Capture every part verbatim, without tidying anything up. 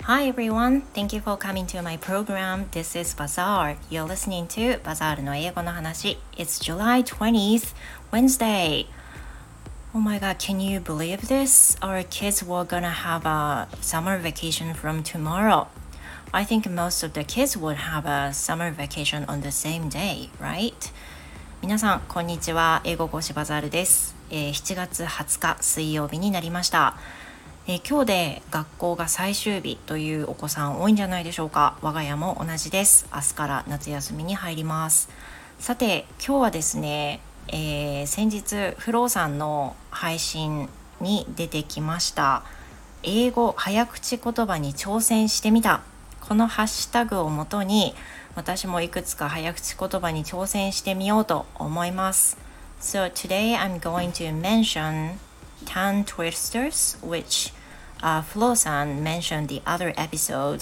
Hi everyone, thank you for coming to my program. This is Bazaar. You're listening to Bazaar の英語の話. It's July twentieth, Wednesday. Oh my god, can you believe this? Our kids were gonna have a summer vacation from tomorrow. I think most of the kids would have a summer vacation on the same day, right? 皆さん、こんにちは。英語講師バザールです。えー、しちがつはつか水曜日になりました。えー、今日で学校が最終日というお子さん多いんじゃないでしょうか。我が家も同じです。明日から夏休みに入ります。さて今日はですね、えー、先日フローさんの配信に出てきました英語早口言葉に挑戦してみた、このハッシュタグをもとに私もいくつか早口言葉に挑戦してみようと思います。 So today I'm going to mention tongue twisters, which uh, Flo-san mentioned the other episode,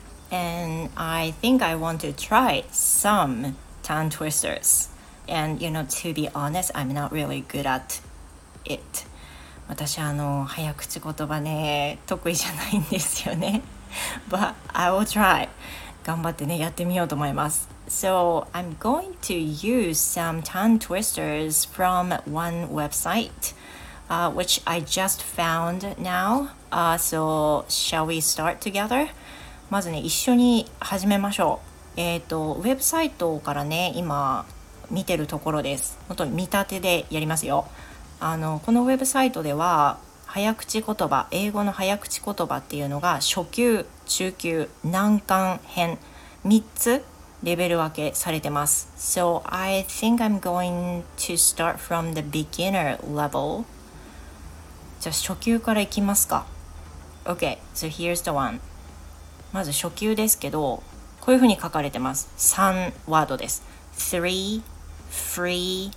and I think I want to try some tongue twisters. And you know, to be honest, I'm not really good at it. 私あの早口言葉ね得意じゃないんですよね。But I will try. 頑張ってねやってみようと思います。So I'm going to use some tongue twisters from one website.Uh, which I just found now. Uh, so shall we start together? まずね、一緒に始めましょう。えっと、ウェブサイトからね、今見てるところです。本当に見立てでやりますよ。あの、このウェブサイトでは、早口言葉、英語の早口言葉っていうのが初級、中級、難関編、みっつレベル分けされてます。So I think I'm going to start from the beginner level.じゃあ初級からいきますか。 OK, so here's the one. まず初級ですけど、こういうふうに書かれてます。さんワードです。three free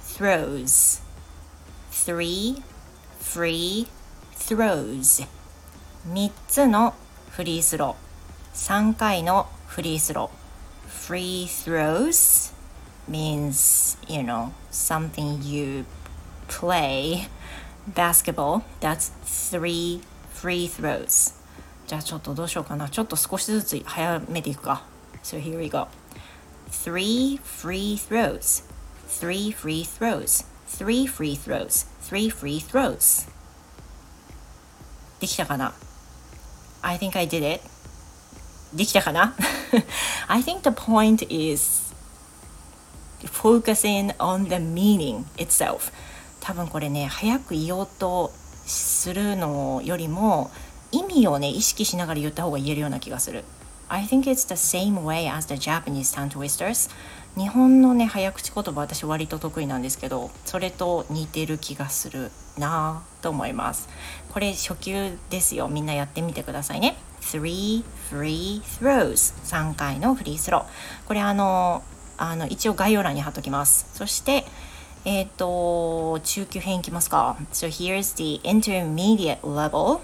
throws three free throws みっつのフリースロー、さんかいのフリースロー。 Free throws means, you know, something you play basketball. That's three free throws. じゃあちょっとどうしようかな。ちょっと少しずつ早めていくか。So here we go. Three free throws. Three free throws. Three free throws. Three free throws. できたかな？ I think I did it. できたかな？ I think the point is focusing on the meaning itself.多分これね、早く言おうとするのよりも意味をね意識しながら言った方が言えるような気がする。 I think it's the same way as the Japanese tongue twisters. 日本のね早口言葉私割と得意なんですけど、それと似てる気がするなと思います。これ初級ですよ。みんなやってみてくださいね。 Three free throws さんかいのフリースロー。これあのあの一応概要欄に貼っときます。そしてえっと、中級編いきますか。So here's the intermediate level.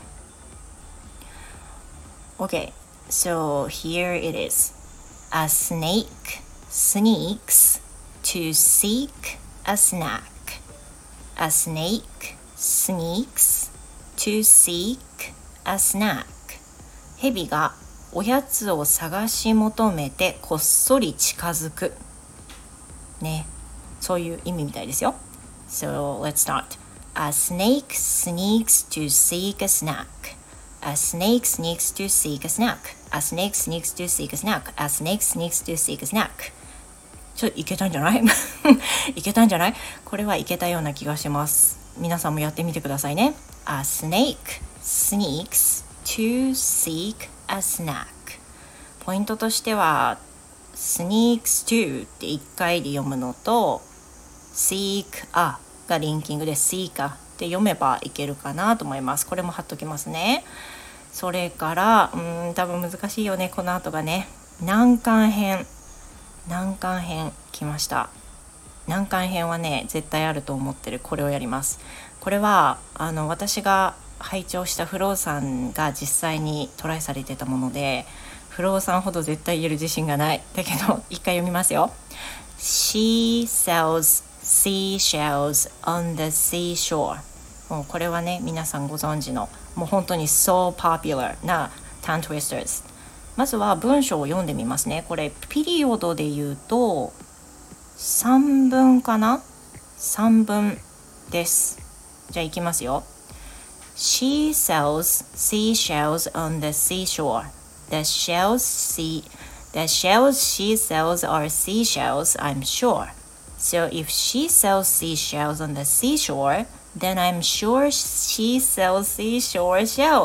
Okay, so here it is. A snake sneaks to seek a snack. A snake sneaks to seek a snack. 蛇がおやつを探し求めてこっそり近づく。ね。そういう意味みたいですよ。So let's start. A snake sneaks to seek a snack. A snake sneaks to seek a snack. A snake sneaks to seek a snack. A snake sneaks to seek a snack. ちょっといけたんじゃない？いけたんじゃない？これはいけたような気がします。皆さんもやってみてくださいね。A snake sneaks to seek a snack. ポイントとしてはsneaks to っていっかいで読むのとseek a がリンキングで seek a って読めばいけるかなと思います。これも貼っときますね。それからうーん多分難しいよねこの後がね。難関編難関編来ました。難関編はね絶対あると思ってる。これをやります。これはあの私が拝聴したフローさんが実際にトライされてたもので、フローさんほど絶対言える自信がない。だけど一回読みますよ。 She sells seashells on the seashore. もうこれはね皆さんご存知のもう本当に so popular な tongue twisters。まずは文章を読んでみますね。これピリオドで言うとさんぶんかな ?さん 分です。じゃあいきますよ。She sells seashells on the seashore. The shells, see, the shells she sells are seashells, I'm sure. So if she sells seashells on the seashore, then I'm sure she sells seashore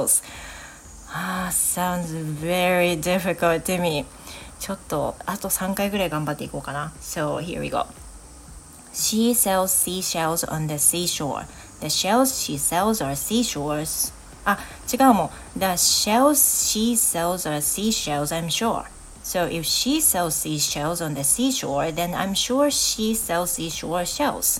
shells.Ah, sounds very difficult to me. ちょっとあとさんかいぐらい頑張っていこうかな。So here we go. She sells seashells on the seashore. The shells she sells are seashores. あ、違うもん。The shells she sells are seashells, I'm sure. So if she sells seashells on the seashore, then I'm sure she sells seashore shells.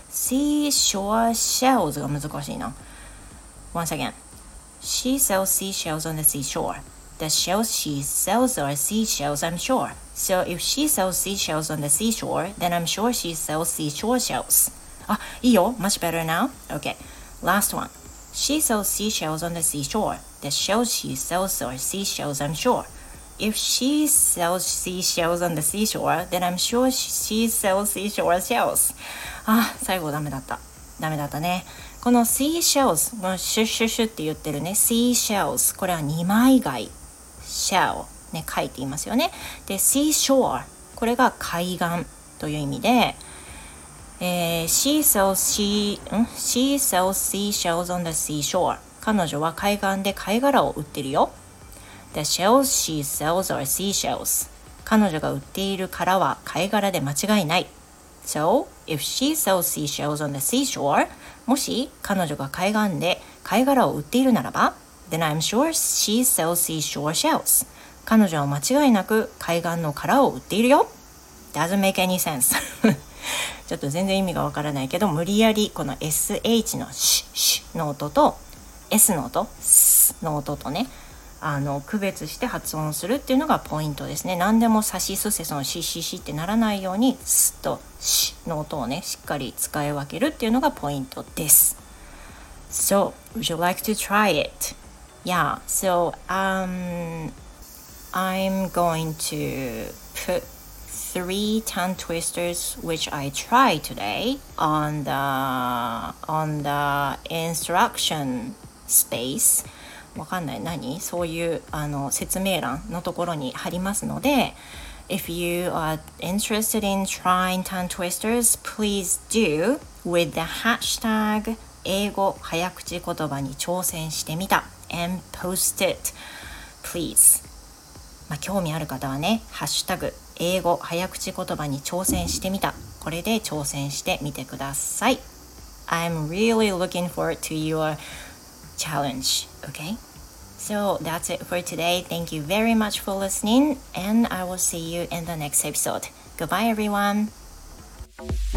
Seashore shells が難しいな。Once again.She sells seashells on the seashore. The shells she sells are seashells, I'm sure. So if she sells seashells on the seashore, then I'm sure she sells seashore shells. あ、いいよ。Much better now. Okay. Last one. She sells seashells on the seashore. The shells she sells are seashells, I'm sure. If she sells seashells on the seashore, then I'm sure she sells seashore shells. あ、最後ダメだった。ダメだったね。この seashells、このシュッシュッシュって言ってるね seashells、これは二枚貝 shell ね、貝って言いますよね。で seashore、これが海岸という意味で、えー、she sells she、ん she sells seashells on the seashore。彼女は海岸で貝殻を売ってるよ。The shells she sells are seashells。彼女が売っている殻は貝殻で間違いない。So, if she sells seashells on the seashore, もし彼女が海岸で貝殻を売っているならば、then I'm sure she sells seashore shells. 彼女は間違いなく海岸の殻を売っているよ。Doesn't make any sense. ちょっと全然意味がわからないけど、無理やりこの エスエイチ のシュシュの音と S の音、スの音とね、あの区別して発音するっていうのがポイントですね。何でもサシスセソンシシシってならないようにスとシの音をねしっかり使い分けるっていうのがポイントです。So, would you like to try it? Yeah, so um, I'm going to put three tongue twisters which I tried today on the, on the instruction space.わかんない何そういうあの説明欄のところに貼りますので If you are interested in trying tongue twisters, please do with the hashtag 英語早口言葉に挑戦してみた and post it, please、まあ、興味ある方はねハッシュタグ英語早口言葉に挑戦してみたこれで挑戦してみてください。 I'm really looking forward to your challenge. Okay, so that's it for today. Thank you very much for listening, and I will see you in the next episode. Goodbye, everyone.